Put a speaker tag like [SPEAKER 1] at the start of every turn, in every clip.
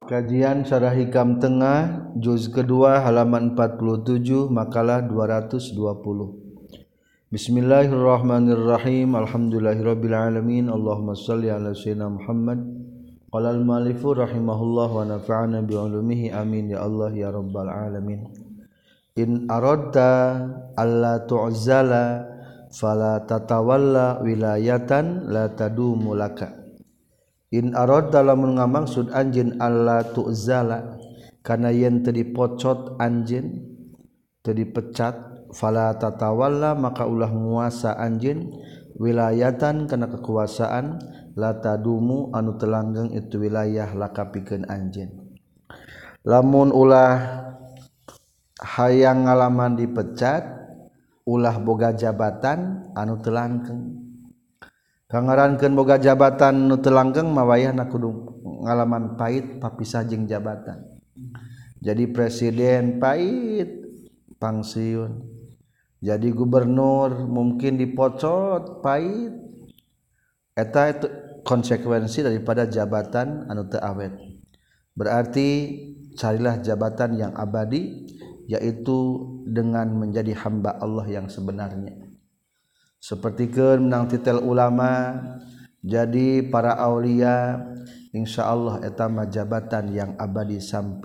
[SPEAKER 1] Kajian Syarah Hikam Tengah juz kedua halaman 47 makalah 220. Bismillahirrahmanirrahim. Alhamdulillahirabbil alamin. Allahumma shalli ala sayyidina Muhammad. Qala al-mu'allifu rahimahullah wa nafa'ana bi ulumihi amin ya Allah ya rabbal alamin. In aradta alla tu'zala fala tatawalla wilayatan la tadumu laka. In aradta lamun ngamaksud anjeun alla tu'zala kana yen teu dipocot anjeun teu dipecat fala tatawalla maka ulah nguasa anjeun wilayatan kana kekuasaan la tadumu anu teu langgeng itu wilayah laka pikeun anjeun. Lamun ulah hayang ngalaman dipecat ulah boga jabatan anu teu langgeng. Kangarankeun boga jabatan nu teu langgeng mah wayahna kudu ngalaman pait papisah jeung jabatan. Jadi presiden pait pangsiun. Jadi gubernur mungkin dipocot pait. Eta itu konsekuensi daripada jabatan anu teu awet. Berarti carilah jabatan yang abadi, yaitu dengan menjadi hamba Allah yang sebenarnya. Sepertikeun menang titel ulama jadi para aulia, insyaallah eta mah jabatan yang abadi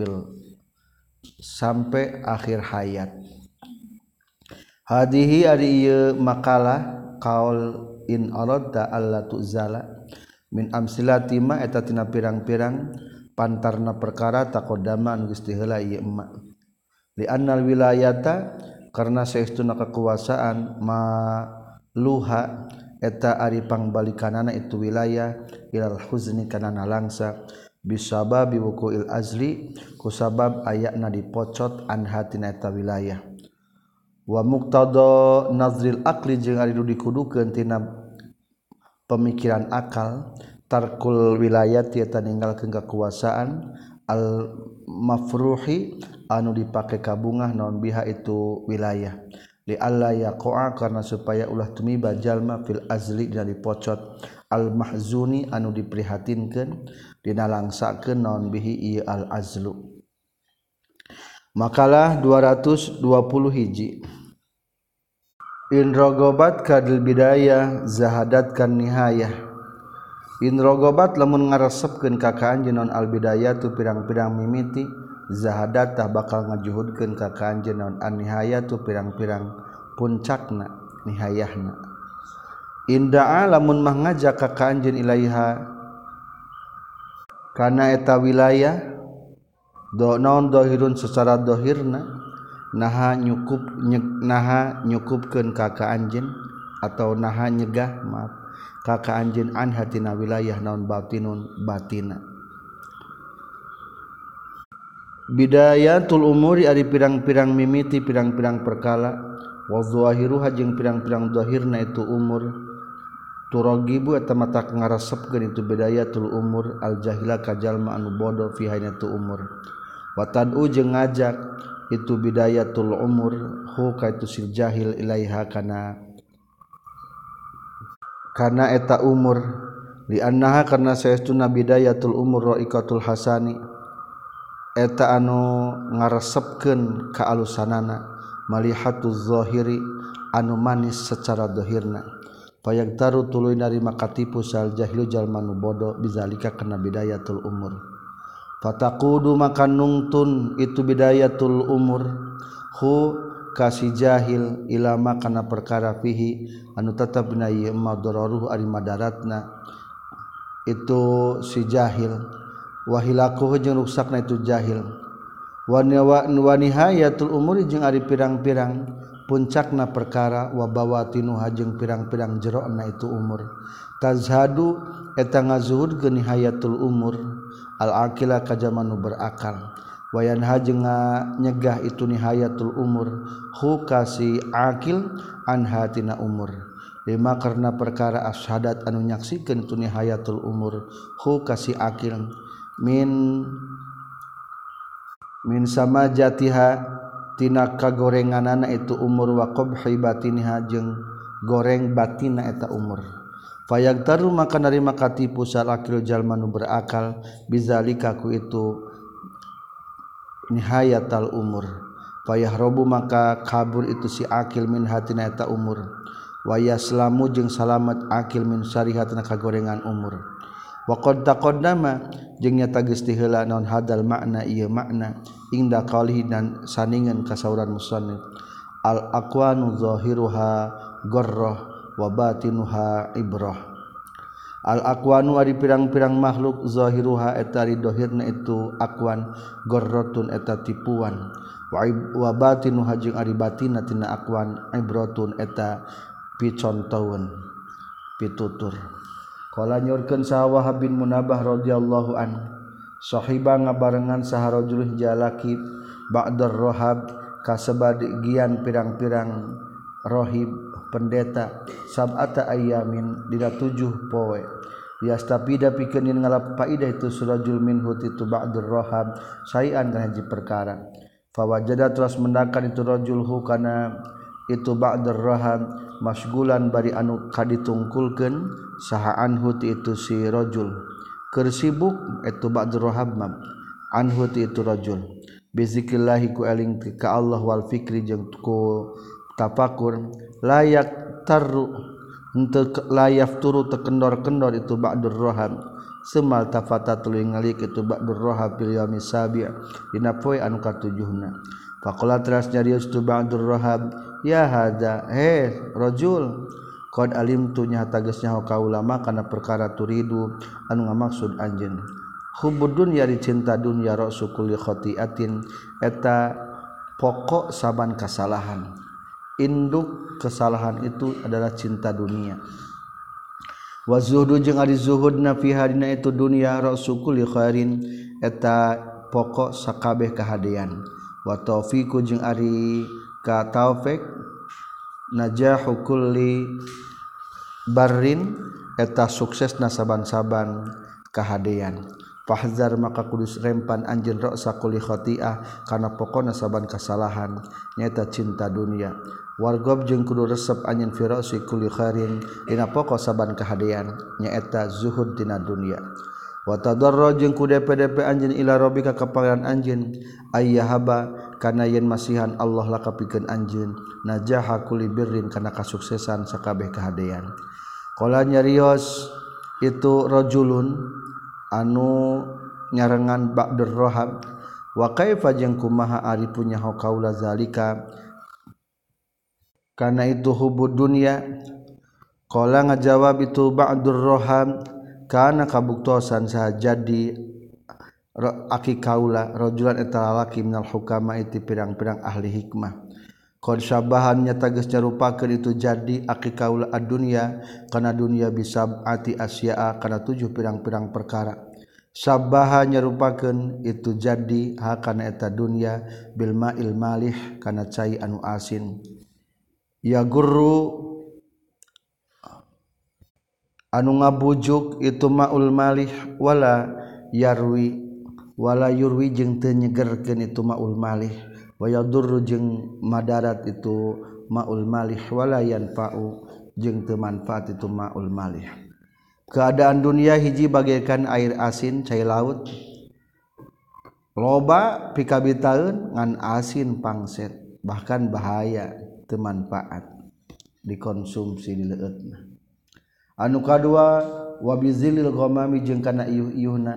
[SPEAKER 1] sampai akhir hayat. Hadihi ari ieu makalah qaul in aradta alla tu'zala min amsilati ma eta tina pirang-pirang pantarna perkara taqaddama anu geus heula ieu emma. Li annal wilayata karna saestuna kekuasaan ma luha eta ari pangbalikanana itu wilayah ilal huzni kana nalangsa bisababi wuqu'il azli kusabab ayatna dipocot an hatina eta wilayah wa muqtada nazril aqli jeung ari dikudukeun tina pemikiran akal tarkul wilayati eta ninggalkeun kekuasaan al mafruhi anu dipake kabungah naon biha itu wilayah li alla yaqa'a karna supaya ulah tumiba jalma fil azli dina dipocot al mahzuni anu diprihatinkeun dina langsakeun naon bihi ieu al azlu. Makalah 220 hiji. In rogobat kadil bidayah zahadat kan nihayah. In rogobat lamun ngaresepkeun ka anjeun naon al bidayah tu pirang-pirang mimiti zahadat tah bakal ngajuhudkeun ka anjeun naon an nihayah tu pirang-pirang puncakna nihayahna. Inda'a lamun mah ngajak ka anjeun ilaiha kana eta wilayah do naon dohirun secara dohirna naha nyukupkeun ka anjeun atau naha nyegah maaf ka anjeun an hatina wilayah naon batinun batina. Bidayatul umuri ari pirang-pirang mimiti pirang-pirang perkala wa zahiruha jeung pirang-pirang zahirna itu umur turagibu eta mata ngaresepkeun itu bidayatul umur al jahila ka jalma anu bodoh fi haina tu umur wa tad'u jeung ngajak itu bidayatul umur hu ka itu sil jahil ilaiha kana eta umur li annaha karna saestuna bidayatul umur raikatul hasani eta anu ngaresepkeun ka alusanana malihatuz zahiri anu manis secara zahirna payagtaru tuluy narima katipu sal jahilu jalma nu bodoh bizalika kana bidayatul umur fataqudu maka nungtun itu bidayatul umur hu kasi jahil ilama kana perkara fihi anu tetep dina ieu madararuh ari madaratna itu si jahil wahilakuh jeung rusakna itu jahil wa nihayatul umuri jeung ari pirang-pirang puncakna perkara wa bawatinuha jeung pirang-pirang jerona itu umur tazhadu eta ngazuhudkeun nihayatul umur al aqila ka jamanu berakal wa yanha jeung nyegah itu nihayatul umur hu kasi aqil an hatina umur lima karna perkara ashadat anu nyaksikeun tu nihayatul umur hu kasi aqil min sama jatiha tina kagorenganana itu umur wa qabhi batinha jeung goreng batinna eta umur fayagtaru maka narima katipu salakil jalma nu berakal bizalika ku itu nihayatal umur payah robu maka kabur itu si akil min hatina eta umur waya selamu jeung salamet akil min syarihatina kagorengan umur wa qad taqaddama jeung nyata geus ti heula naon hadal makna ieu makna inda qalihi dan saningan kasauran musannif al aqwanu zahiruha gharrah wa batinuha ibrah. Al aqwanu ari pirang-pirang makhluk zahiruha eta ari dohirna itu aqwan gharratun eta tipuan wa batinuha jeung ari batinna tina aqwan ibratun eta picontoeun pitutur. Qala nyorkeun saha Wahab bin Munabah radhiyallahu an sahiba ngabarengan saha rajul jalaki ba'dar rohab kasebagian pirang-pirang rohib pendeta sab'ata ayamin dina 7 poe yastapida pikeun ngalap faidah itu surajul minhu itu ba'dur rohab sayan kana hiji perkara fawajada terus mendakan itu rajulhu kana itu ba'dur rohab masgulan bari anu kaditungkulkeun saha anhu itu si rajul keur sibuk itu ba'dur rohab anhu itu rajul bizikrillah ku eling ka Allah wal fikri jeung ku tafakur layak taru untuk layaf turu tekendor-kendor itu ba'dur rohab semal tafata tuluy ngalik itu ba'dur rohab fil yaumi sabi' dina poe anu katujuhna faqala teras nyarios tu ba'dur rohab ya hada rajul qad alimtu nya tageus nyaho ka ulama kana perkara turidu anu ngamaksud anjeun hubbud dunya ri cinta dunya rasul kulli khati'atin eta pokok saban kasalahan induk kesalahan itu adalah cinta dunia wa zuhdu jeung ari zuhudna fi hadina itu dunia rasul li khairin eta pokok sakabeh kahadean wa taufiqu jeung ari ka taufik najahu kulli barrin eta suksesna saban-saban kahadean fahzar maka kudus rempan anjeun ra'sa kulli khati'ah kana pokona saban kasalahan nyaeta cinta dunia wargob jeung kudu resep anjeun fi ra'si kulli khairin dina pokok saban kahadean nyaeta zuhud dina dunia wa tadarraj jeung kudu DP anjeun ila rabbika ka pangeran anjeun ayyahaba kana yen masihan Allah lakapikeun anjeun najaha kulli birrin kana kasuksesan sakabeh kahadean qala nyarios itu rajulun anu nyarengan ba'dur rohab wa kaifa jeung kumaha ari punya qaula zalika kana itu hubud dunya qala ngajawab itu ba'dur rohab kana kabuktosan saha jadi aki kaula rajulan eta lalaki minal hukama itu pirang-pirang ahli hikmah qad syabahan nyata geus nyarupakeun itu jadi aki kaula ad-dunya kana dunya bisab'ati asya'a kana 7 pirang-pirang perkara syabaha nyarupakeun itu jadi hakana eta dunya bil ma'il malih kana cai anu asin ya guru anu ngabujuk itu ma'ul malih wala yurwi jeung teu nyegerkeun itu ma'ul malih wa yadurru jeung madarat itu ma'ul malih wala yanfa'u jeung teu manfaat itu ma'ul malih keadaan dunia hiji bagaikan air asin cai laut loba pikabitaeun ngan asin pangset bahkan bahaya teu manfaat dikonsumsi di leueutna anu kadua wa bizilil ghamami jeung kana ieuh-ieuhna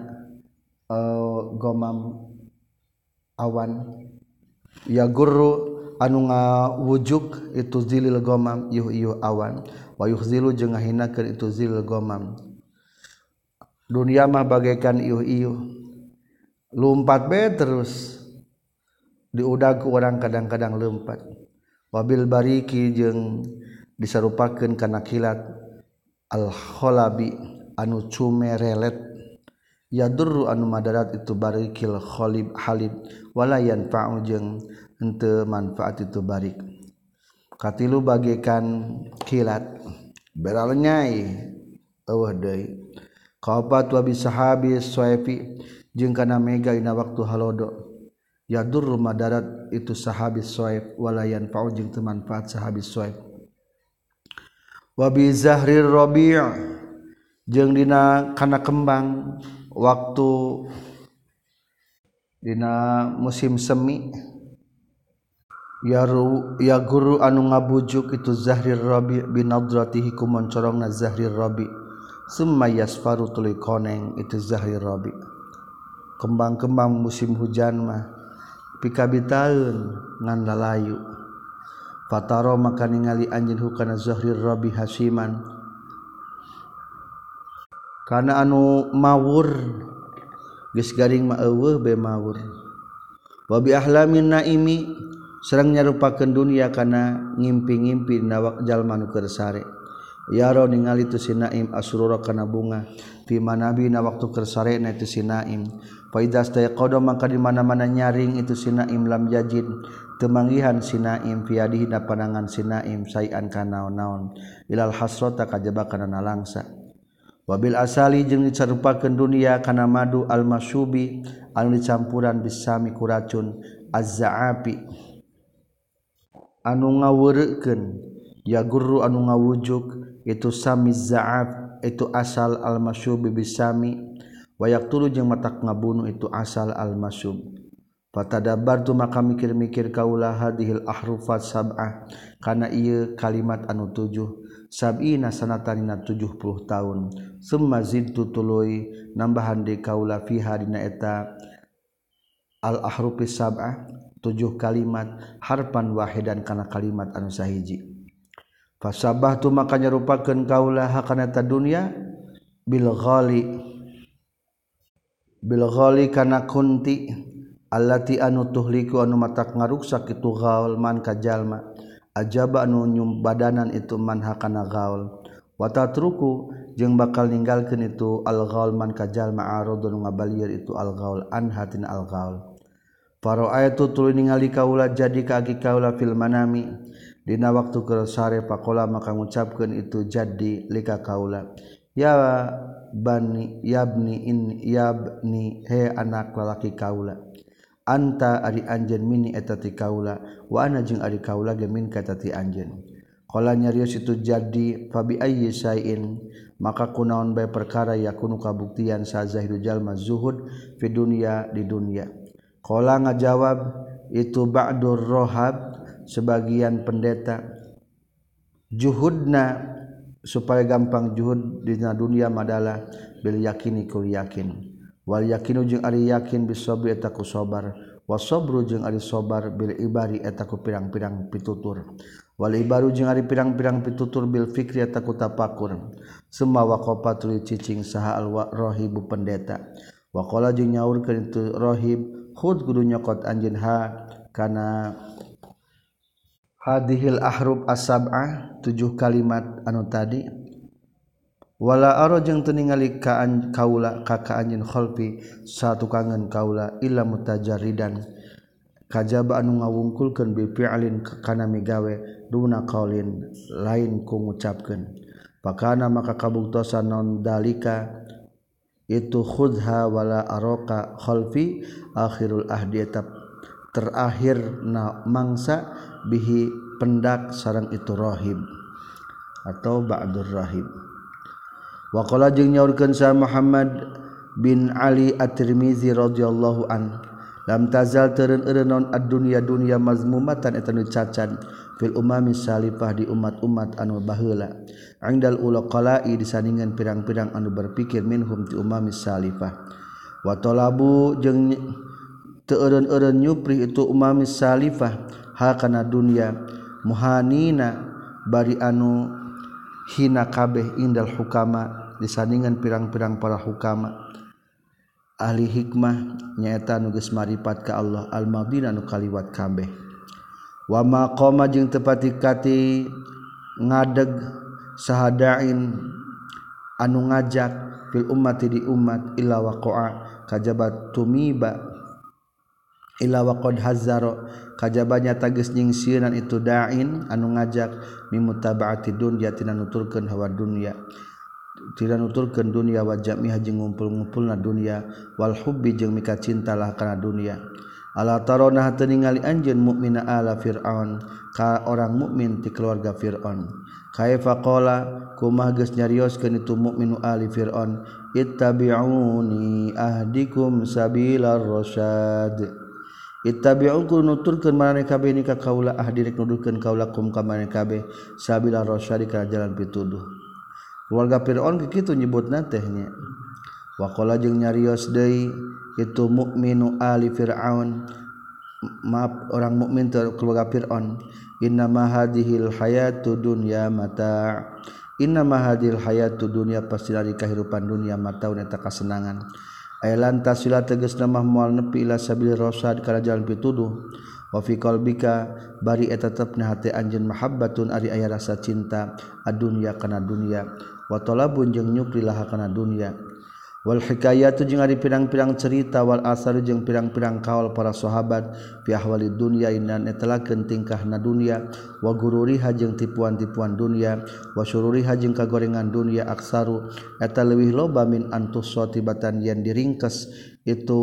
[SPEAKER 1] ghamam awan ya guru anu ngawujuk itu zilil ghamam ieuh-ieuh awan wa yukhzilu jeung ngahinakeun itu zilil ghamam dunia mah bagaikan ieuh-ieuh lumpat bae terus diudag ku urang kadang-kadang leumpat wabil bariki jeung disarupakeun kana kilat al kholabi anu cumerelet yadurru anu madarat itu barikil kholib halib wala yanfa'u jeung henteu manfaat itu barik katilu bagaikan kilat beral nyai eueuh deui qabat wa bisahabi suaifi jeung kana mega dina waktu halodo yadurru madarat itu sahabi suaib wala yanfa'u jeung teu manfaat sahabi suaib wa bi zahrir rabi' jeung dina kana kembang waktu dina musim semi ya guru anu ngabujuk itu Zahrir Rabi binadratihi ku moncorongna Zahrir Rabi summa yasfaru tuluy koneng itu Zahrir Rabi kembang-kembang musim hujan mah pikabitaeun ngan lalayu fataro maka ningali anjeun hukana Zahrir Rabi hasiman kana anu mawur geus garing mah eueuh be mawur wa bi ahlamin naimi sareng nyarupakeun dunia kana ngimpi-ngimpi dina jalma nu keur sare yaro ningali tu si naim asrura kana bunga fi manabina waktu keur sarena itu si naim fa idza staqada maka di mana-mana nyaring itu si naim lam yajid teu manggihan si naim fi yadihi na panangan si naim sayan kana naon ilal hasrata kajaba kana nalangsa wabil asali jeung dicarupakeun dunia kana madu al masyubi anu dicampuran bisami ku racun az-za'api anu ngaweureukkeun ya guru anu ngawujuk itu sami za'af itu asal al masyubi bisami wa yaqtulu jeung matak ngabunuh itu asal al masyub fatadabbartu maka mikir-mikir kaula hadhil ahrufat sab'ah kana ieu kalimat anu 7 sab'ina sanatanina 70 tahun summa zidtu tuluy nambahan di kaula fiha dina eta al ahrufis sab'ah 7 kalimat harpan wahidan kana kalimat anu sahiji fasabahtu maka nyarupakeun kaula hakana ta dunya bil ghali kana kunti allati anu tuhliku anu matak ngaruksak itu gaul man ka jalma ajaba anu nyum badanan itu man hakana gaul wa tatruku jeung bakal ninggalkeun itu al gaul man ka jalma aradun ngabalieur itu al gaul an hatin al gaul faro ayatu tuluy ningali kaula jadi ka agi kaula fil manami dina waktu keur sare pakola maka ngucapkeun itu jadi lika kaula ya bani yabni he anak lalaki kaula anta ari anjeun mini eta ti kaula wa ana jeung ari kaula ge min ka ti anjeun qala nyarios itu jadi fabi ayyi sain maka kunaon bae perkara yakunu kabuktian sa zahidu jalma zuhud fi dunya di dunya qala ngajawab itu ba'dur rohab sebagian pendeta juhudna supaya gampang juhud di dunia madalah bil yakini kul yakin wal yakinu jeung ari yakin bisabri eta ku sabar wasabru jeung ari sabar bil ibari eta ku pirang-pirang pitutur wal ibaru jeung ari pirang-pirang pitutur bil fikri eta ku tapakur summa waqafatul cicing saha al rahibu pendeta wa qala jeung nyaurkeun itu rahib khud kudu nyokot anjeun ha kana hadhil ahrub as-sab'ah 7 kalimat anu tadi wala aro jeung teu ningali ka kaula ka anjeun khalfi satukangan kaula illa mutajarridan kajaba anu ngawungkulkeun bi fi'lin kana migawe duna qaulin lain ku ngucapkeun pakana maka kabuktosan non dalika itu khudha wala araka khalfi akhirul ahdi terakhir na mangsa bihi pendak sareng itu rahib atau ba'dur rahib wa qala jeung nyaurkeun sa Muhammad bin Ali at-Tirmizi radhiyallahu an lam tazal teureun-eureun ad-dunya dunya mazmumatan eta nu cacan fil umami salifah di umat-umat anu baheula indal ulaqala'i disandingan pirang-pirang anu berpikir minhum ti umami salifah wa talabu jeung teu eureun-eureun nyupri itu umami salifah hakana dunya muhanina bari anu hina kabeh indal hukama disandingan pirang-pirang para hukama ahli hikmah nyaeta nu geus marifat ka Allah al-madina nu kaliwat kabeh wa maqama jeung tepati kati ngadeg sahadain anu ngajak fil ummati di umat illa waqa'a kajabat tumiba illa waqad hazzara kajabanya tagis nyingsieun itu da'in anu ngajak mimutaba'ati dunya tina nuturkeun hawa dunya tidak nuturkeun dunya wa jami'a jeung ngumpul-ngumpulna dunya wal hubbi jeung mika cintalah kana dunya ala tarona teu ningali anjeun mukmina ala fir'aun ka orang mukmin ti keluarga fir'aun kaifa qala kumaha geus nyarioskeun itu mukminu ali fir'aun ittabi'uni ahdikum sabilar rasyad ittabi'un kudu nuturkeun maneh kabeh ni ka kaula ahdi rek nuduhkeun kaulakum ka maneh kabeh sabilar rasyad ka jalan pituduh keluarga fir'aun kitu nyebutna teh nya wa qala jeung nyarios deui itu mukminu ali fir'aun maaf orang mukmin keluarga Fir'aun innama hadhil hayatu dunya mata innama hadhil hayatu dunya pasti dari kehidupan dunia mataun eta kasenangan ay lantas sila tegasna mah moal nepi ila sabil rasyad kana jalan pituduh wa fi qalbika bari eta tetepna hate anjeun mahabbatun ari aya rasa cinta adunya kana dunia wa talabun jeung nyukrilah kana dunia wal hikayatu jeung ari pirang-pirang cerita wal asar jeung pirang-pirang kaul para sahabat fi ahwalid dunya inna etalakeun tingkahna dunya wa gururiha jeung tipuan-tipuan dunya wa syururiha jeung kagorengan dunya aksaru eta leuwih loba min antus sotibatan yen diringkes itu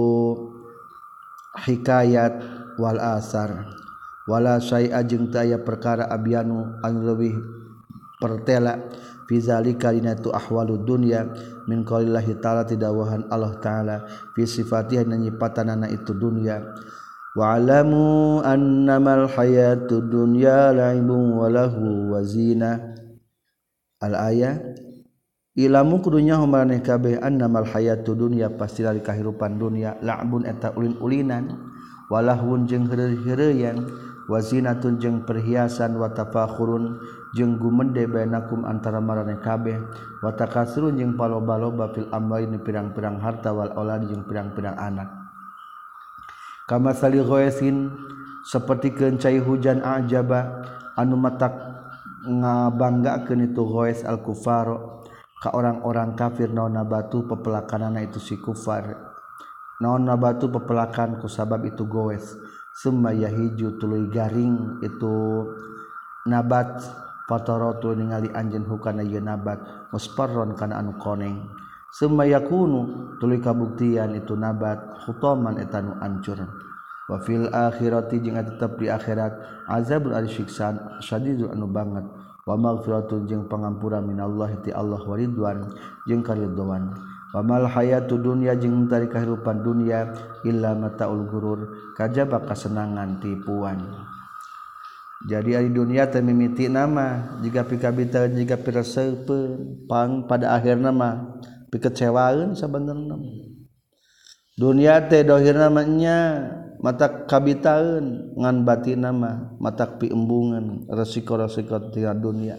[SPEAKER 1] hikayat wal asar wala syai'a jeung teu aya perkara abyanu anu leuwih pertela fi zalika dina tu ahwalud dunya min qaulillahi ta'ala tidawahan Allah ta'ala fi sifatiha nyipatanana itu dunya wa alamu annamal hayatud dunya la'ibun wa lahu wa zina al aya ilamu kudunya maneh kabeh annamal hayatud dunya pasti dari kahirupan dunya la'bun eta ulin-ulinan walahun jeung heureuy-heureuyan wa zinatun jeung perhiasan wa tafakhurun jeung gumende bainakum antara maraneh kabeh wa takasrun jeung paloba-loba fil amwali pirang-pirang harta wal aulad jeung pirang-pirang anak kama sali ghaisin saperti cai hujan ajaba anu matak ngabanggakeun itu ghais al kufar ka orang-orang kafir naon nabatu pepelakanana itu si kufar naon nabatu pepelakan ku sabab itu ghais summa yahiju tuluy garing itu nabat fataratul ningali anjeun hukana ieu nabat musparron kana anu koneng summa yakunu tuluy kabuktian itu nabat khutaman eta nu ancur wa fil akhirati jeung tetep di akhirat azabul arsyiksan syadidul anu banget wa maghfiratun jeung pangampura minallahi ti Allah wa ridwan jeung karidhoan wa mal hayatud dunya jeung tari kahirupan dunya illa mataul gurur kajaba kasenangan tipuan. Jadi ari dunia teh mimiti nama jika pikabita jika piraseupeun pang pada akhirna mah pikecewaeun sabenerna. Dunia teh dohirna mah nya matak kabitaeun ngan batinna mah matak piembungan resiko-resiko tina dunia.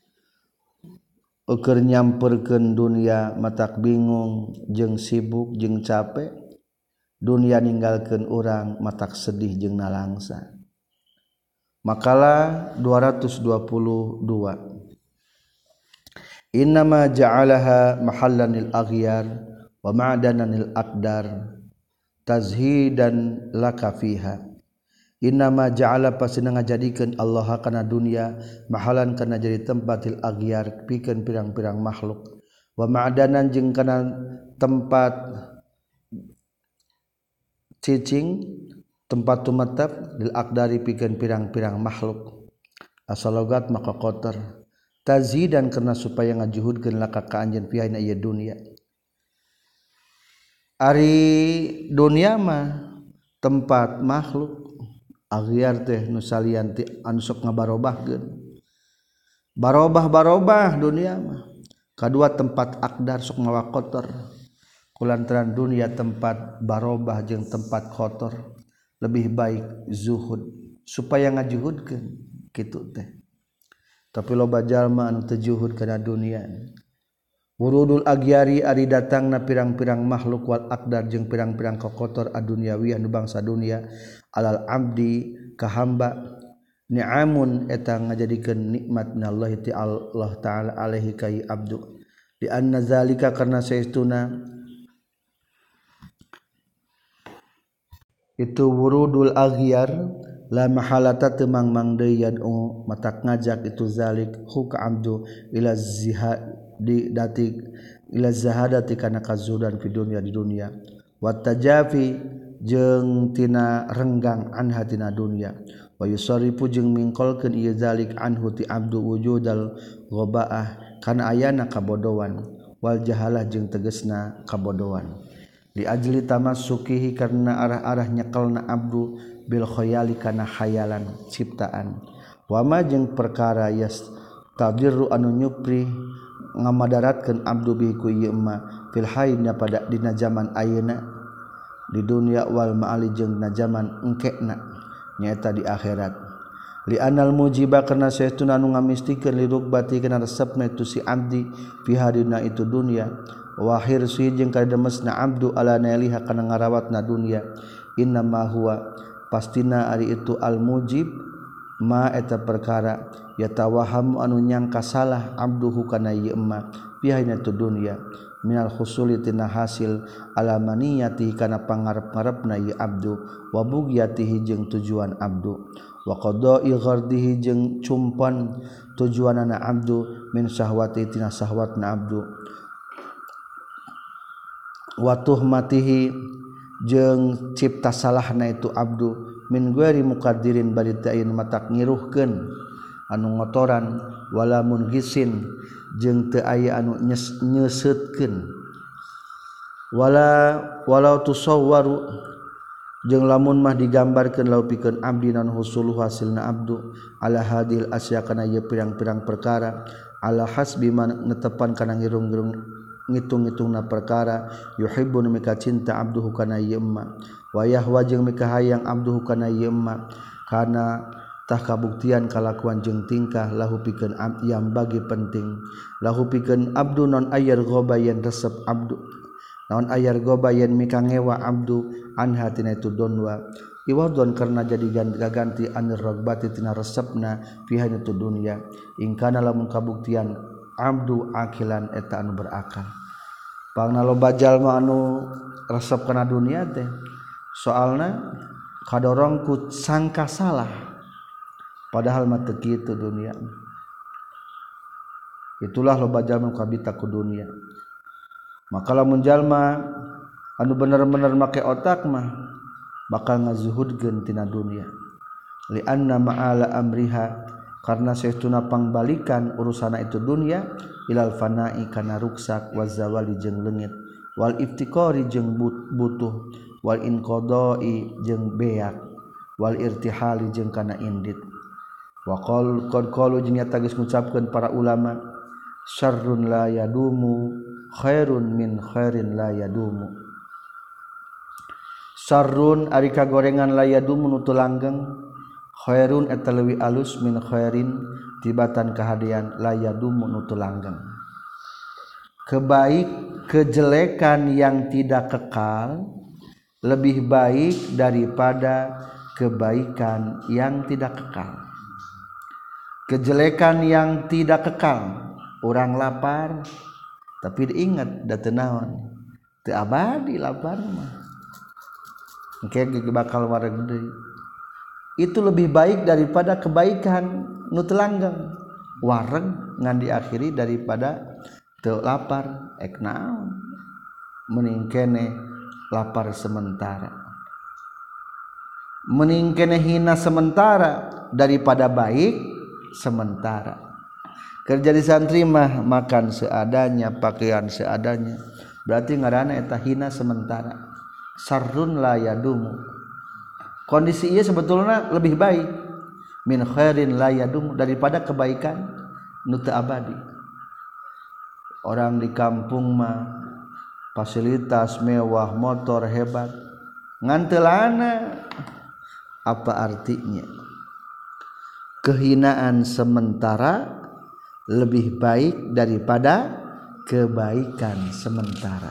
[SPEAKER 1] Ukur nyamperkeun dunia matak bingung jeung sibuk jeung capek dunia ninggalkeun urang matak sedih jeung nalangsa. Makalah 222 innama ja'alaha mahallan lil aghyar wa ma'danan lil aqdar tazhidan laka fiha innama ja'ala pasina ngajadikeun Allah kana dunya mahalan kana jadi tempatil aghyar pikeun pirang-pirang makhluk wa ma'danan jeung kana tempat cicing tempat tumatap lil aqdari pikeun pirang-pirang makhluk asal logat maka kotor tazidan karena supaya ngajuhudkeun laka ka anjeun fi ieu dunya ari dunya mah tempat makhluk aghyar teh nu salian ti anu sok ngabarobahkeun barobah dunia mah kadua tempat aqdar sok mawa kotor kulantaran dunia tempat barobah jeung tempat kotor lebih baik zuhud supaya ngajuhudkeun kitu teh tapi loba jalma anu teu juhud kana dunia wurudul agyari ari datangna pirang-pirang makhluk wal aqdar jeung pirang-pirang kokotor adunyawi anu bangsa dunia alal abdi ka hamba ni'amun eta ngajadikeun nikmat minallahi ti Allah taala alaihi kai abdu di anna zalika karna saestuna itu wurudul aghyar la mahalata temang deui yad'u matak ngajak itu zalik hu ka abdu ila zihadi datik ila zahadati kana kazudan fi dunya di dunya wa tajafi jeung tina renggang an hatina dunya wa yusarifu jeung mingkolkeun ieu zalik anhu ti abdu wujudal ghabaah kana ayana kabodohan wal jahalah jeung tegasna kabodohan li ajli tamassukihi karna arah-arah nyekelna abdu bil khayali kana khayalan ciptaan wa ma jeung perkara yastadirru anu nyupri ngamadaratkeun abdu bihi ku ieu ma fil hayna pada dina zaman ayeuna di dunia wal ma'ali jeung na zaman engkena nyaeta di akhirat li anal mujiba karna saestuna anu ngamistikeun li rubbati kana resepna itu si abdi fi hadina itu dunia wa hirsi jeung kademesna abdu ala nailiha kana ngarawatna dunia inna ma huwa pastina ari itu al mujib ma eta perkara yatawaham anu nyangka salah abduhu kana ieu ma bihaina tu dunya minal husuli tina hasil alamaniyati kana pangarep-ngarepna ieu abdu wa bugyatihi jeung tujuan abdu wa qada'i ghardihi jeung cumpon tujuanana abdu min syahwati tina syahwatna abdu wa tuhmatihi jeung cipta salahna itu abdu min ghairi muqaddirin bari teu aya matak ngiruhkeun anu ngotoran wala mungisin jeung teu aya anu nyeuseutkeun walau tusawwaru jeung lamun mah digambarkeun lau pikeun abdi nan husulu hasilna abdu ala hadil asya kana ieu pirang-pirang perkara ala hasbi man netepan kana ngirung-ngirung ngitung-ngitungna perkara yuhibbun mika cinta abduhu kana ieu ma wa yahwa jeung mika hayang abduhu kana ieu ma kana tah kabuktian kalakuan jeung tingkah lahu pikeun yang bagi penting lahu pikeun abdu non ayar ghabayan resep abdu naon ayar ghabayan mika ngewa abdu anha tina itu donwa iwadon karena jadi ganti anir ragbati tina resepna fiha itu dunya ingkana lamun kabuktian abdu akilan eta anu berakal pangna loba jalma anu resep kana dunia teh soalna kadorong ku sangka salah padahal mah teu kitu dunia itulah loba jalma kabita ku dunia maka lamun jalma anu bener-bener make otak mah bakal ngazuhudkeun tina dunia li anna ma'ala amriha karna saestuna pangbalikan urusana itu dunia ilal fana'i kana ruksak wa zawali jeung leungit wal iftiqari jeung butuh wal inqadai jeung beak wal irtihali jeung kana indit wa qalu jeung nyata geus ngucapkeun para ulama syarrun la yadumu khairun min khairin la yadumu syarrun ari kagorengan la yadumu nu teu langgeng khairun eta leuwih alus min khairin tibatan kahadian la yadumu nu teu langgeng kejelekan yang tidak kekal lebih baik daripada kebaikan yang tidak kekal kejelekan yang tidak kekal orang lapar tapi diingat da teu naon teu abadi lapar mah engke bakal wareg deui itu lebih baik daripada kebaikan nu teu langgeng wareg ngan diakhiri daripada teu lapar ek naon mending keneh lapar sementara mending keneh hina sementara daripada baik sementara kerja di santri mah makan seadanya pakaian seadanya berarti ngaranna eta hina sementara sarrun la yadumu kondisi ieu sebetulna lebih baik min khairin la yadumu daripada kebaikan nu teu abadi orang di kampung mah fasilitas mewah motor hebat ngan teu lana apa artinya kehinaan sementara lebih baik daripada kebaikan sementara.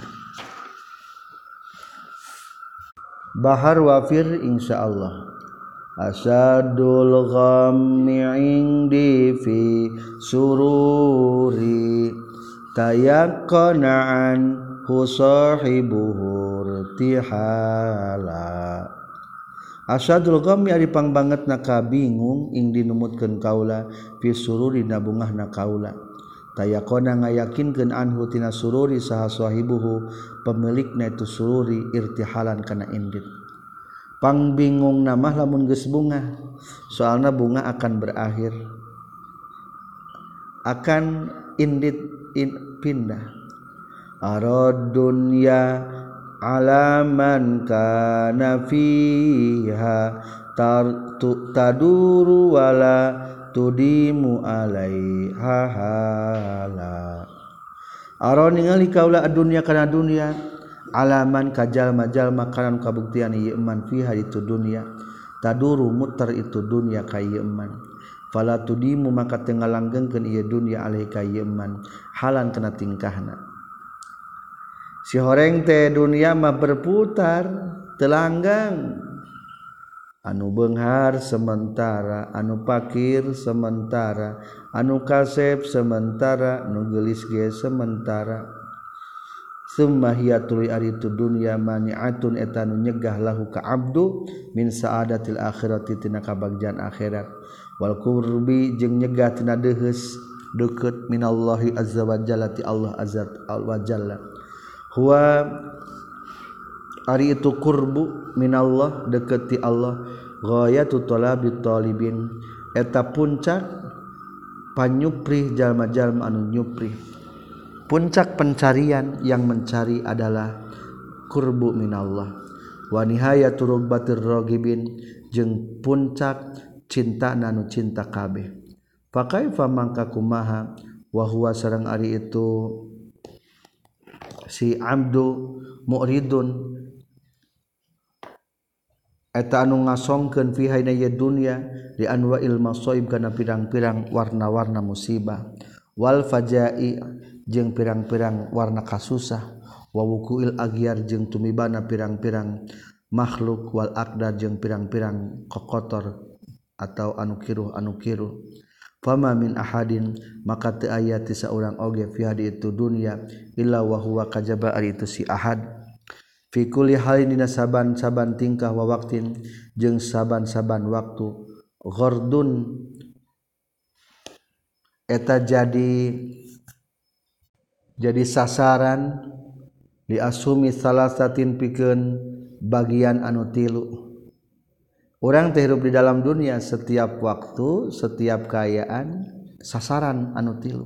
[SPEAKER 1] Bahar wafir insyaallah asadul ghammi indi fi sururi tayaqqana an husahibuhu irtihala asadul ghammi ari pangbangetna kabingung ing dinumutkeun kaula fi sururi nabungahna kaula tayaqona ngayakinkeun anhu tina sururi saha sahibuhu pemilikna itu sururi irtihalan kana indit pang bingung nama lamun geus bunga soalna bunga akan berakhir akan pindah arad dunya alaman kana fiha taduru wala tudimu alaiha hala aron ningali kaula dunya kana dunya alaman kajal-majal makanan kabuktian ieu eman fiha itu dunya taduru muter itu dunya ka ieu eman fala tudimu maka teu ngalanggengkeun ieu dunya alaika ieu eman halan kana tingkahna si horeng teh dunya mah berputar telanggang anu beunghar sementara anu pakir sementara anu kasep sementara nu geulis ge sementara summa hiya tuluy ari tu dunya mani'atun eta nu nyegah lahu ka abdu min saadatil akhirati tina kabagjan akhirat wal qurbi jeung nyegah tina deus deukeut minallahi azza wa jalla ti Allah azza wa jalla huwa ari itu qurbu minallah deukeut ti Allah ghayatu talabit talibin eta puncak panyuprih jalma-jalma anu nyuprih puncak pencarian yang mencari adalah qurbu minallah wa nihayatu rugbatir ragibin jeung puncak cinta nanu cinta kabeh fa kaifa mangka kumaha wa huwa sareng ari itu si abdu mu'ridun eta anu ngasongkeun fi hayna ya dunya di anwa'il masaib kana pirang-pirang warna-warna musibah wal fajai jeung pirang-pirang warna kasusah wa wukuil agyar jeung tumibana pirang-pirang makhluk wal aqdar jeung pirang-pirang kokotor atau anu kiruh fama min ahadin maka teu aya ti saurang oge fi hadi itu dunya illa wa huwa kajaba ari itu si ahad fi kulli halin dina saban-saban tingkah wa waqtin jeung saban-saban waktu ghardun eta jadi sasaran diasumi salasatin pikeun bagian anu tilu urang teh hirup di dalam dunia setiap waktu setiap keayaan sasaran anu tilu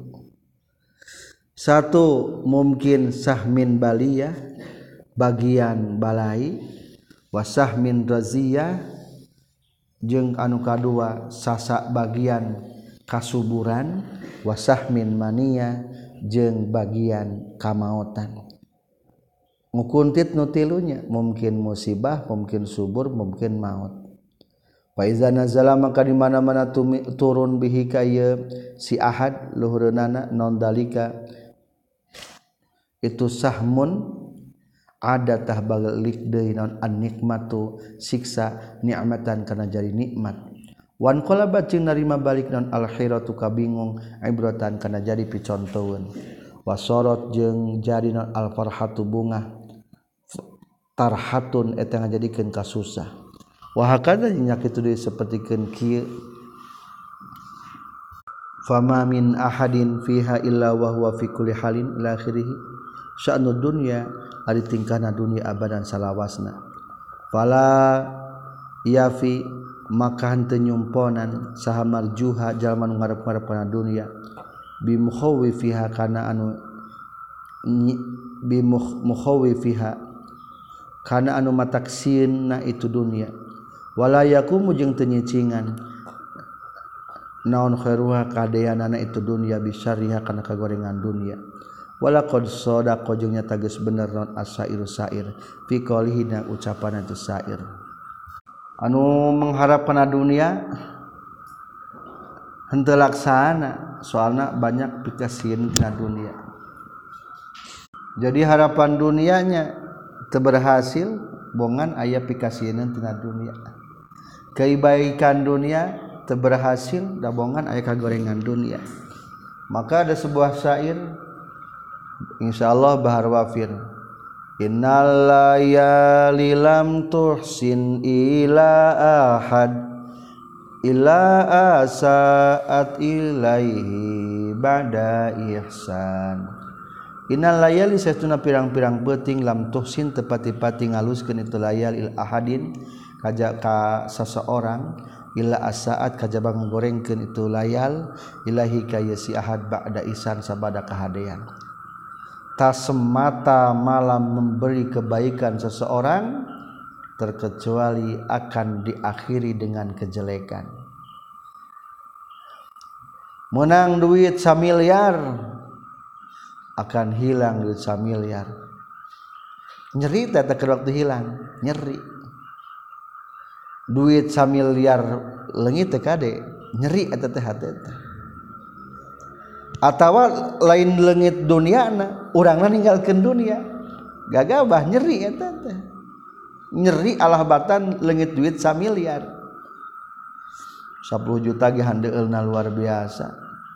[SPEAKER 1] satu mungkin sahmin baliyah bagian balai wasahmin raziyah jeung anu kadua sasak bagian kasuburan wasahmin maniyah jeung bagian kamaotan ngukuntit nu tilunya mungkin musibah mungkin subur mungkin maut fa iza nazala maka di mana-mana turun bihi ka si ahad luhureunana non dalika itu sahmun ada tah balik deui naon an-nikmatu siksa nikmatan kana jadi nikmat wan qalabat jeung narima balik naon al-khiratu kabingung ibratan kana jadi picontoeun wasorot jeung jadi naon al-farhatu bunga tarhatun eta ngajadikeun kasusah wa hakada nya kitu deui sapertikeun kieu fama min ahadin fiha illa wa huwa fi kulli halin ila akhirih sya'nud dunya ari tingkahna dunia abadan salawasna fala yafi maka henteu nyumponan saha marjuha jalma nu ngarep-ngarepna dunia bimukhawifiha kana anu bimukhawifiha kana anu mataksieunna itu dunia wala yakumu jeung teu nyicingan naon khairuha kadeanana itu dunia bisyariha kana kagorengan dunia walaqad sadaqa jeung nyata geus bener naon asairu sair fi qaulihina ucapan itu sair anu mengharapkeun dunia henteu laksana soalna banyak pikasieun tina dunia jadi harapan dunianya teu berhasil bongan aya pikasieun tina dunia kebaikan dunia teu berhasil da bongan aya kagorengan dunia maka ada sebuah syair insyaallah bahar wafir innal layali lam tuhsin ila ahad ila asaat ilaihi ba'da ihsan innal layali satuna pirang-pirang beuting lam tuhsin tepati-pati ngaluskeun itu layal il ahadin ka seseorang illa asaat kajaba ngorengkeun itu layal ilahi ka si ahad ba'da isan sabada kahadean. Tak semata malam memberi kebaikan seseorang terkecuali akan diakhiri dengan kejelekan. Menang duit 1 miliar akan hilang duit 1 miliar. Nyeri teh waktu hilang, nyeri. Duit 1 miliar leungit teh kade, nyeri eta teh hate teh. Atawa lain leungit duniana, urangna ninggalkeun dunia. Gagabah nyeri eta teh. Nyeri alahbatan leungit duit 1 miliar. 10 juta ge handeueulna luar biasa.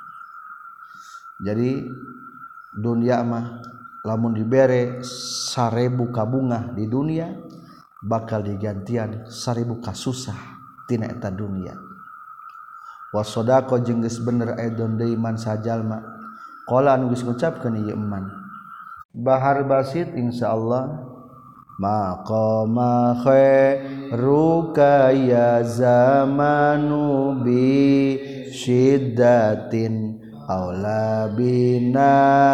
[SPEAKER 1] Jadi dunia mah lamun dibere 1000 kabungah di dunia bakal digantian 1000 kasusah tina eta dunia. Wasodaqo jeung geus bener aidon deui man sajalma qala anu geus ngucapkeun ieu eman bahar basit insyaallah maqama khairuka ya zamanu bi syiddatin aula bina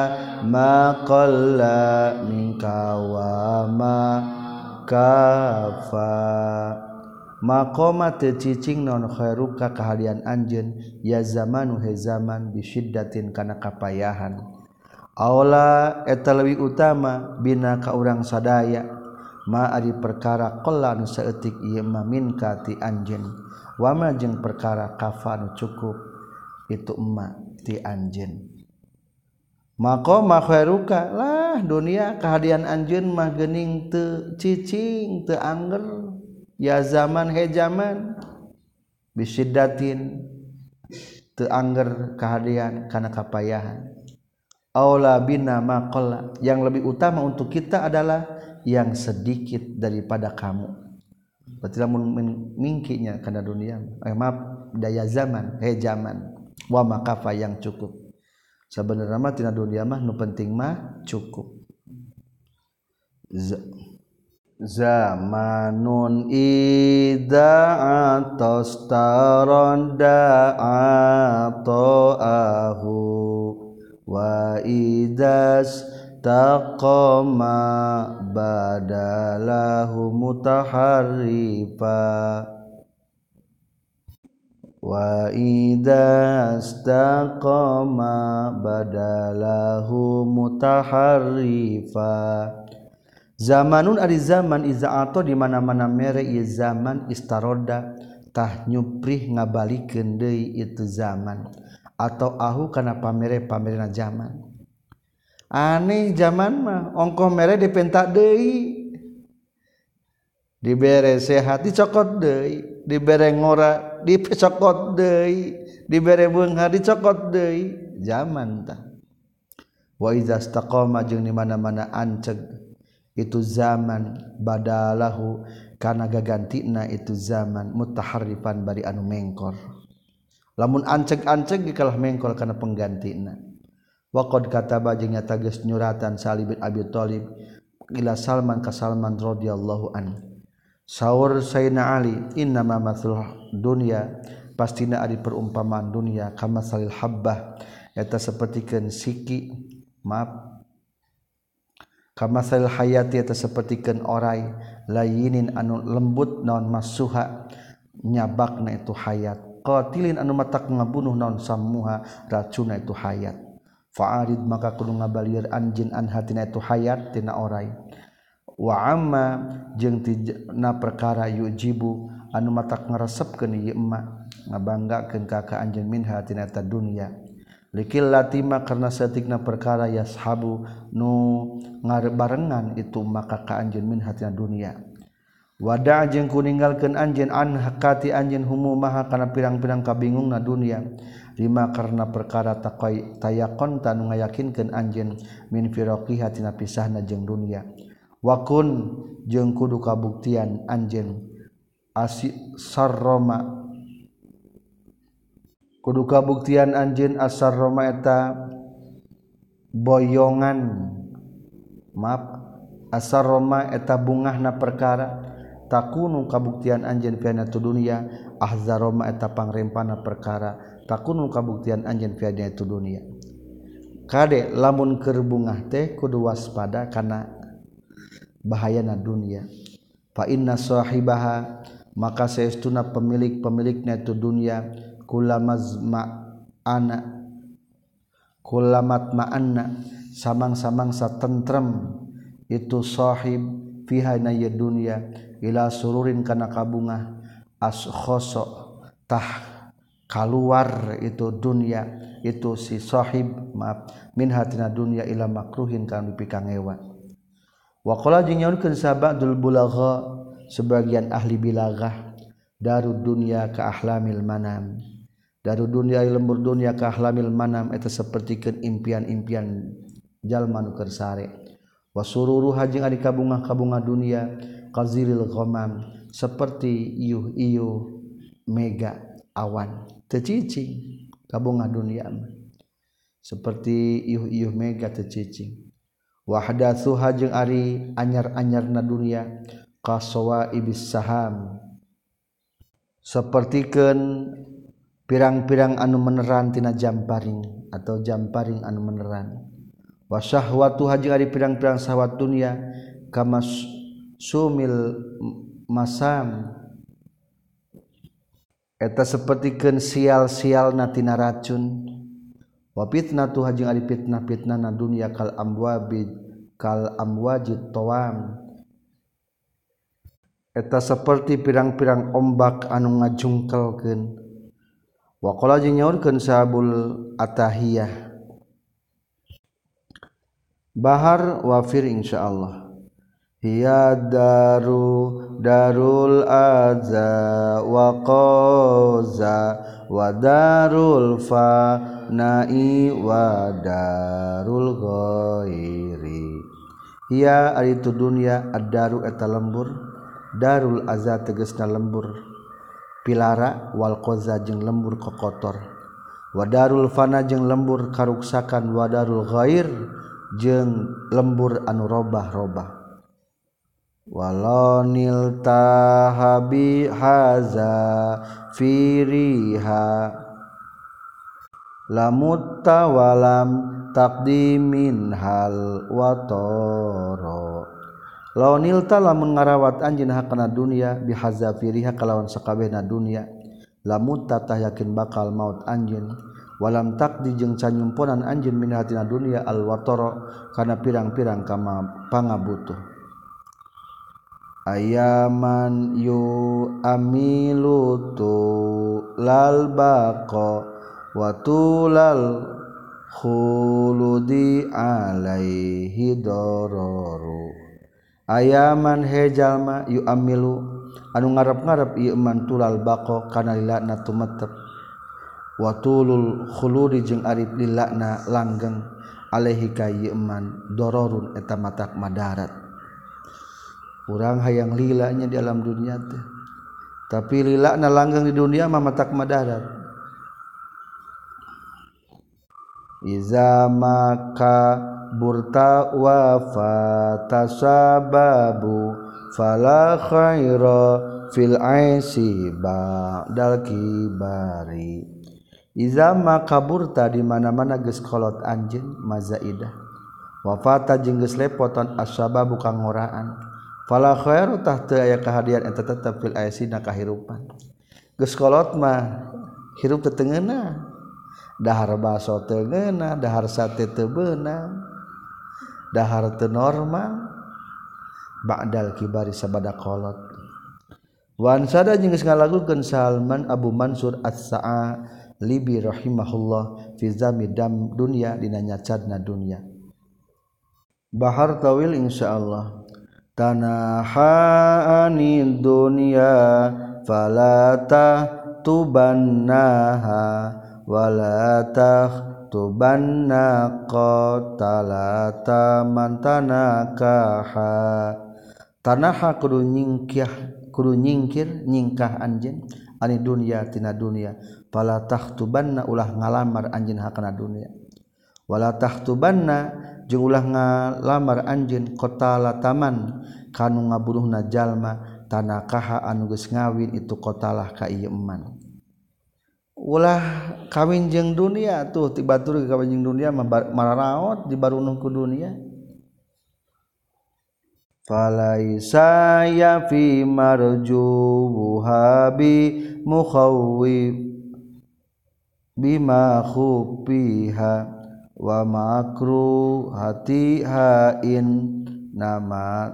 [SPEAKER 1] maqalla minka wa ma kafa maqama teu cicing naon khairuka kahadian anjeun ya zamanu he zaman bisyiddatin kana kapayahan aula eta leuwih utama bina ka urang sadaya ma ari perkara qalla anu saeutik ieu mah minka ti anjeun wa ma jeung perkara kafa anu cukup itu emma ti anjeun maqama khairuka lah dunia kahadian anjeun mah geuning teu cicing teu angger ya zaman he zaman bisyiddatin teu angger kahadian kana kapayahan aula bina maqalla yang lebih utama untuk kita adalah yang sedikit daripada kamu berarti lamun mingkinya kana dunia maaf daya zaman he zaman wa makafa yang cukup sabenerna mah tina dunia mah nu penting mah cukup zamanun ida'atos taronda ata'ahu wa idas taqama badalahu mutaharrifa wa idas taqama badalahu mutaharrifa zamanun ari zaman iza'ato di mana-mana mere ieu zaman istaroda tah nyuprih ngabalikeun deui itu zaman atau ahu kana pamere-pamerena zaman aneh zaman mah ongkoh mere dipenta deui dibere sehat dicokot deui dibere ngora dicokot deui dibere beunghar dicokot deui zaman tah wa iza istaqama jeung di mana-mana anceg itu zaman badalahu kana gagantina itu zaman mutaharrifan bari anu mengkor lamun anceg-anceg kalah mengkor kana penggantina wa qad kataba jeung nyata geus nyuratan Sa'li bin Abi Thalib ila Salman ka Salman radhiyallahu an saur Sayyidina Ali innama matsul dunya pastina ari perumpamaan dunia kama salil habbah eta sapertikeun siki maaf kama salil hayati eta sapertikeun orai layinin anu lembut naon masuha nyabakna itu hayat qatilin anu matak ngabunuh naon sammuha racuna itu hayat fa'arid maka kudu ngabalieur anjeun an hatina itu hayat tina orai wa amma jeung tina perkara yujibu anu matak ngaresepkeun ieu emma ngabanggakeun ka anjeun minha tina ta dunya likil latima karna saeutikna perkara yashabu nu ngabarengan itu maka ka anjeun minha tina dunya wada jeung kuninggalkeun anjeun an hakati anjeun humumaha kana pirang-pirang kabingungna dunia lima karena perkara tayakon tanu ngayakinkeun anjeun min firaqiha tina pisahna jeung dunia wakun jeung kudu kabuktian anjeun asarroma kudu kabuktian anjeun asarroma eta boyongan maaf asarroma eta bungahna perkara takunu kabuktian anjeun fi tu dunya ahzaroma eta pangrempana perkara takunu kabuktian anjeun fi tu dunya kade lamun keur bungah teh kudu waspada kana bahayana dunia fa inna sahibaha maka saestuna pemilikna itu dunia kulamat ma'anna samang-samang satentrem itu sahib fiha na dunia ila sururin kana kabungah askhoso tah keluar itu dunia itu si sahib min hatina dunia ila makruhin kana dipikang ewan wa qala jeung nyaurkeun sabadul bulagha sebagian ahli bilaghah darud dunya ka ahlamil manam darud dunya lembur dunya ka ahlamil manam eta sapertikeun impian-impian jalma nu keur sare wa sururuha jeung ari kabungah-kabungah dunya qaziril ghamam seperti iuh-iuh mega awan teu cicing kabungah dunya seperti iuh-iuh mega teu cicing wahdatsuha jeung ari anyar-anyarna dunia qasawa ibis saham sapertikeun pirang-pirang anu meneran tina jamparing atau jamparing anu meneran wa syahwatu jeung ari pirang-pirang syahwat dunia kama sumil masam eta sapertikeun sial-sialna tina racun wa fitnatu jeung ari fitnah-fitnahna dunia kal amwajit tawam eta seperti pirang-pirang ombak anu ngajungkelkeun wa qala jeung nyaurkeun sahabul atahiyah bahar wafir insyaallah hiya darul adza wa qaza wa darul fana'i wa darul ghairi hiya ari tu dunya ad-daru eta lembur darul azza tegasna lembur pilara wal qaza jeung lembur kokotor wa darul fana jeung lembur karuksakan wa darul ghair jeung lembur anu robah-robah walonil tahabi haza firiha lamutta walam taqdimin hal watoro launil ta lamun ngarawat anjeun hakana dunia bihazafiriha kalawan sakabehna dunia lamun tatah yakin bakal maut anjeun walam taqdi jeung canyumponan anjeun min hatina dunia alwatara kana pirang-pirang kama pangabutuh ayaman yu amilutu lal baqa wa tulal khuludi alaihi dararu ayaman hejalma yu amilu anu ngarep-ngarep ieu man tulal baqo kana lilana tumetep wa tulul khuludi jeung ari lilana langgeng alaihi ka ieu man dararun eta matak madarat urang hayang lilanya di alam dunia teh tapi lilana langgeng di dunia mah matak madarat iza maka burta wa fatasababu fala khaira fil aisi ba'dal kibari iza maka burta di mana-mana geus kolot anjeun mazaidah wa fata jeung geus lepotan asababu kang ngoraan fala khairu tah teu aya kahadian eta tetep fil aisi na kahirupan geus kolot mah hirup teu teungeuna dahar baso teu ngeunah dahar sate teu beunang dahar teu normal ba'dal kibari sabada kolot wan sada jeung geus ngalagukeun Salman Abu Mansur As-Sa'alibi rahimahullah fi zamidam dunya dina nyacadna dunya bahar tawil insyaallah tanaha anid dunya fala tubannaha wala tubanna qatalata mantanakaha tanaha kudu nyingkah anjeun ani dunya tina dunya fala tubanna ulah ngalamar anjeun hakana dunya wala tubanna jeung ulah ngalamar anjeun qatalataman kanu ngabunuhna jalma tanakaha anu geus ngawin itu kotalah ka ieu eman. Ulah kawin jeung dunia tuh tibatur kawin jeung dunia mararaot dibarunuh ku dunia. Falaisa ya fi marjubuha bi mukhawwib bima khufiha wa makru hatiha in nama.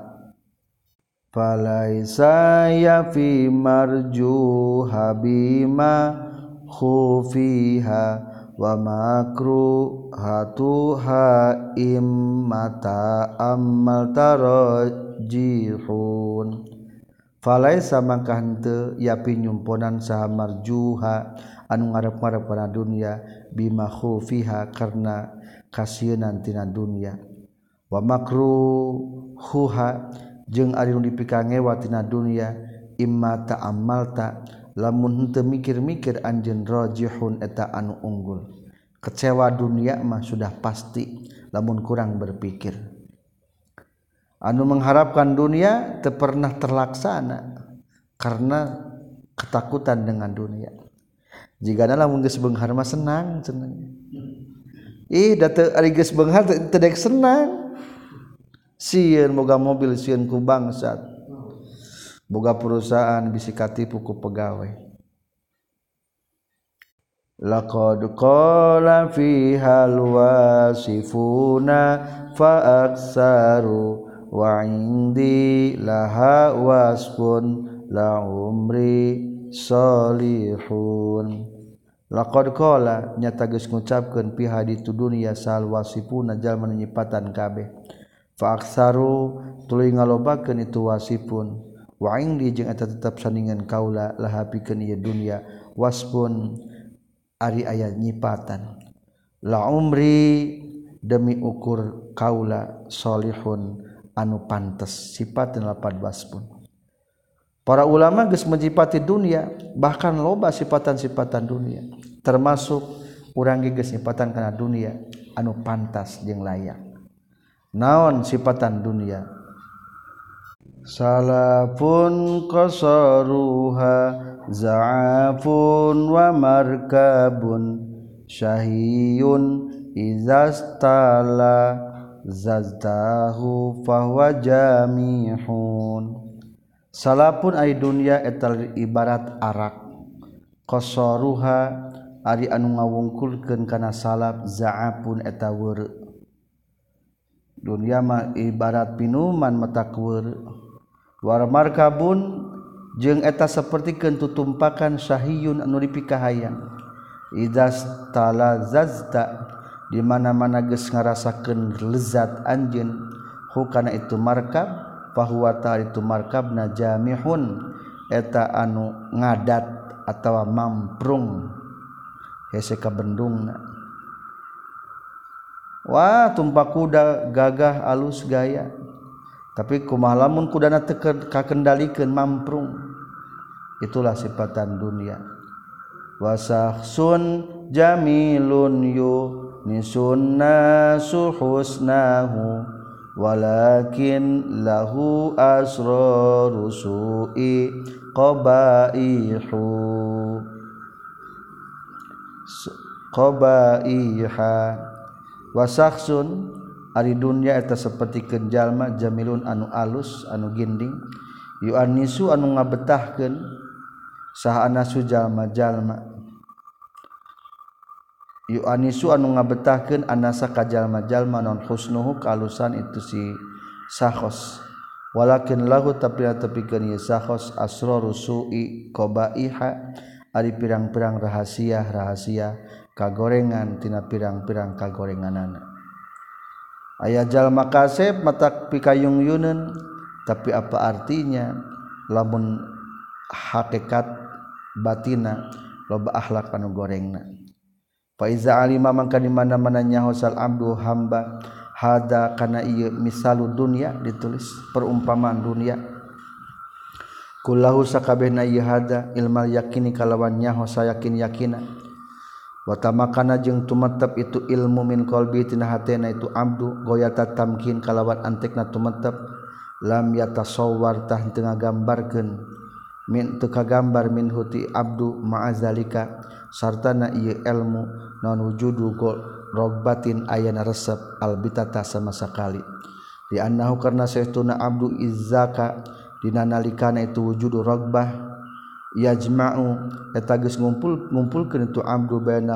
[SPEAKER 1] Falaisa ya fi marjuha bima khufiha wa makru hatuha immata ammal tarajihun. Falaisa mangka henteu yapi nyumponan saha marjuha anu ngarep-ngarep kana dunia bima khufiha karna kasieun tina dunia. Wa makruhuha jeung ari nu dipikangewa tina dunia imma ta'ammalta lamun henteu mikir-mikir anjeun rajihun eta anu unggul. Kecewa dunia mah sudah pasti lamun kurang berpikir. Anu mengharapkan dunia teu pernah terlaksana karena ketakutan dengan dunia. Jigana lamun geus beunghar mah senang cenah. Da teu ari geus beunghar teu dek senang. Sieun boga mobil sieun ku bangsat. Boga perusahaan bisi katipu ku pegawai. Laqad qala fihal wasifuna fa aksaru wa indi laha wasfun la umri salihun. Laqad qala nyata geus ngucapkeun piha di dunya sal wasifuna jalma nyipatan kabeh. Fa aksaru tuluy ngalobakeun itu wasifun wa indi jeung eta tetep sandingan kaula laha pikeun ieu dunya wasfun ari aya nyipatan la umri demi ukur kaula salihun anu pantes sipateun lapad wasfun. Para ulama geus menyipati dunia bahkan loba sifatan-sifatan dunia termasuk urang geus nyipatan kana dunia anu pantas jeung layak. Naon sifatan dunia? Salafun qasaruha za'afun wa markabun syahiyun izastala zazdahu fahuwa jamihun. Salafun ay dunia etal ibarat arak. Qasaruha ari anu ngawungkulkeun kana salaf za'afun eta weureu. Dunia mah ibarat minuman mata keur. War markabun jeung eta sapertikeun tutumpakan syahiyun anu dipikahayang. Idzas talazazta di mana-mana geus ngarasakeun lezat anjeun hukana itu markab fahuwa ta itu markabna jamihun eta anu ngadat atawa mamprung hese ka bendungna. Wah tumpak kuda gagah alus gaya tapi kumaha lamun kudana teu kakendalikeun mamprung. Itulah sifatan dunia. Wasahsun jamilun yunisunna suhusnahu walakin lahu asraru su'i qabaiha. Wasahsun ari dunya eta sapertikeun jalma jamilun anu alus anu ginding yu'annisu anu ngabetahkeun saha anasu jalma-jalma yu'annisu anu ngabetahkeun anasa ka jalma-jalma non husnuhu kalusan itu si sahos walakin lahu tapi tepikeun ieu sahos asraru su'i qabaiha ari pirang-pirang rahasia kagorengan tina pirang-pirang kagorenganana. Aya jalma kasep mata pikayung-yuneun tapi apa artinya lamun hakikat batina loba akhlak anu gorengna. Fa iza alima mangka di mana-mana nyahosal abdu hamba hada kana ieu misalu dunya ditulis perumpamaan dunia. Kullahu sakabehna ieu hada ilmal yakini kalawan nyahos yakin-yakina. Wa tamakana jeung tumetep itu ilmu min qalbi tina hatena itu abdu goyata tamkin kalawan antekna tumetep lam yatasawwar tah teu ngagambarkeun min teu kagambar min huti abdu ma'azalika sartana ieu ilmu non wujudu rogbatin ayana resep albitata sama sakali di annahu karna saestuna abdu izzaka dina nalikana itu wujudu rogbah yajma'u eta geus ngumpulkeun itu abdu baina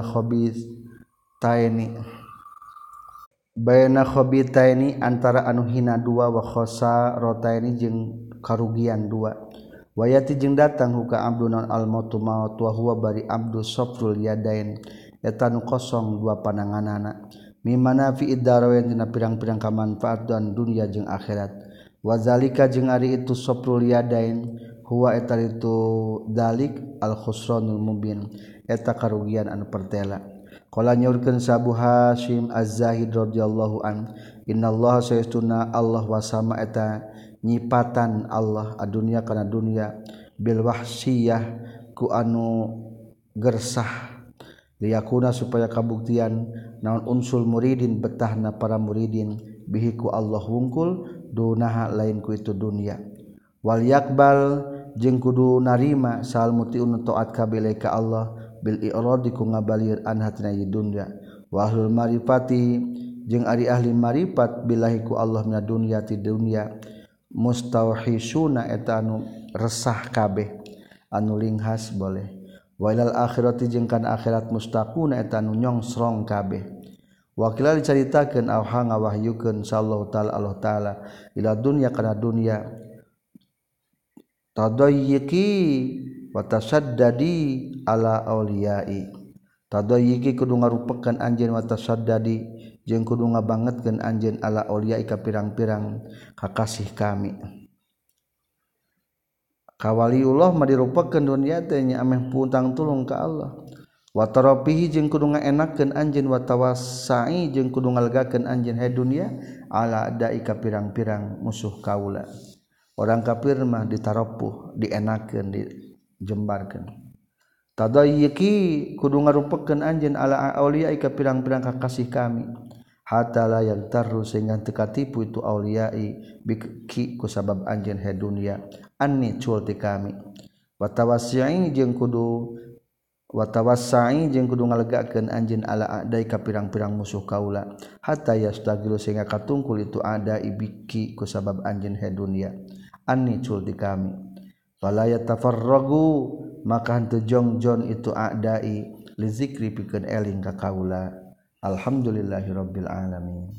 [SPEAKER 1] khabitaini antara anu hina dua wa khosarataini jeung karugian dua wayati jeung datang huka abdu non al mautu maut wa huwa bari abdu safrul yadain eta nu kosong dua pananganana mimana fi iddarawain dina pirang-pirang kamanfaat dan dunia jeung akhirat wazalika jeung ari itu safrul yadain huwa eta itu dalik al khusranul mubin eta karugian anu pertela qala nyaurkeun Sabu Hasyim Az-Zahid radhiyallahu an innallaha saestuna Allah wasama eta nyipatan Allah adunya kana dunya bil wahsiyah ku anu gersah liyakuna supaya kabuktian naon unsul muridin betahna para muridin bihi ku Allah wungkul dunaha lain ku itu dunya wal yakbal jeung kudu narima sal mutiun taat kabeh ka Allah bil i'radi ku ngabalir an hatina dunya wa ahlul marifati jeung ari ahli marifat billahi ku Allah mina dunya ti dunya mustauhisuna eta anu resah kabeh anu linghas boleh walal akhirati jeung kana akhirat mustaquna eta anu nyongsrong kabeh wakila dicaritakeun auha ngawahyukeun sallallahu taala Allah taala ila dunya kana dunya tadayyiki wa tasaddadi ala auliyai tadayyiki kudu ngarupekeun anjeun wa tasaddadi jeung kudu ngabangetkeun anjeun ala auliyai ka pirang-pirang kakasih kami kawaliullah mah dirupakeun dunya teh nya ameh puntang tulung ka Allah wa tarafihi jeung kudu ngaenakkeun anjeun wa tawassai jeung kudu ngalegakeun anjeun he dunya ala dai ka pirang-pirang musuh kaula orang kafir mah ditarapuh dienakeun dijembarkeun tadayyiki kudu ngarupakeun anjeun ala auliya ka pirang-pirang kakasih kami hatta la yagtarru sehingga teu katipu itu auliyai biki ku sabab anjeun he dunya anni cul ti kami wa tawassai jeung kudu ngalegakeun anjeun ala adai ka pirang-pirang musuh kaula hatta yastagilu sehingga katungkul itu ada ibiki ku sabab anjeun he dunya anni cul ti kami fala yatafarragu maka henteu jongjon itu adai li zikri pikeun eling ka kaula alhamdulillahirabbil alamin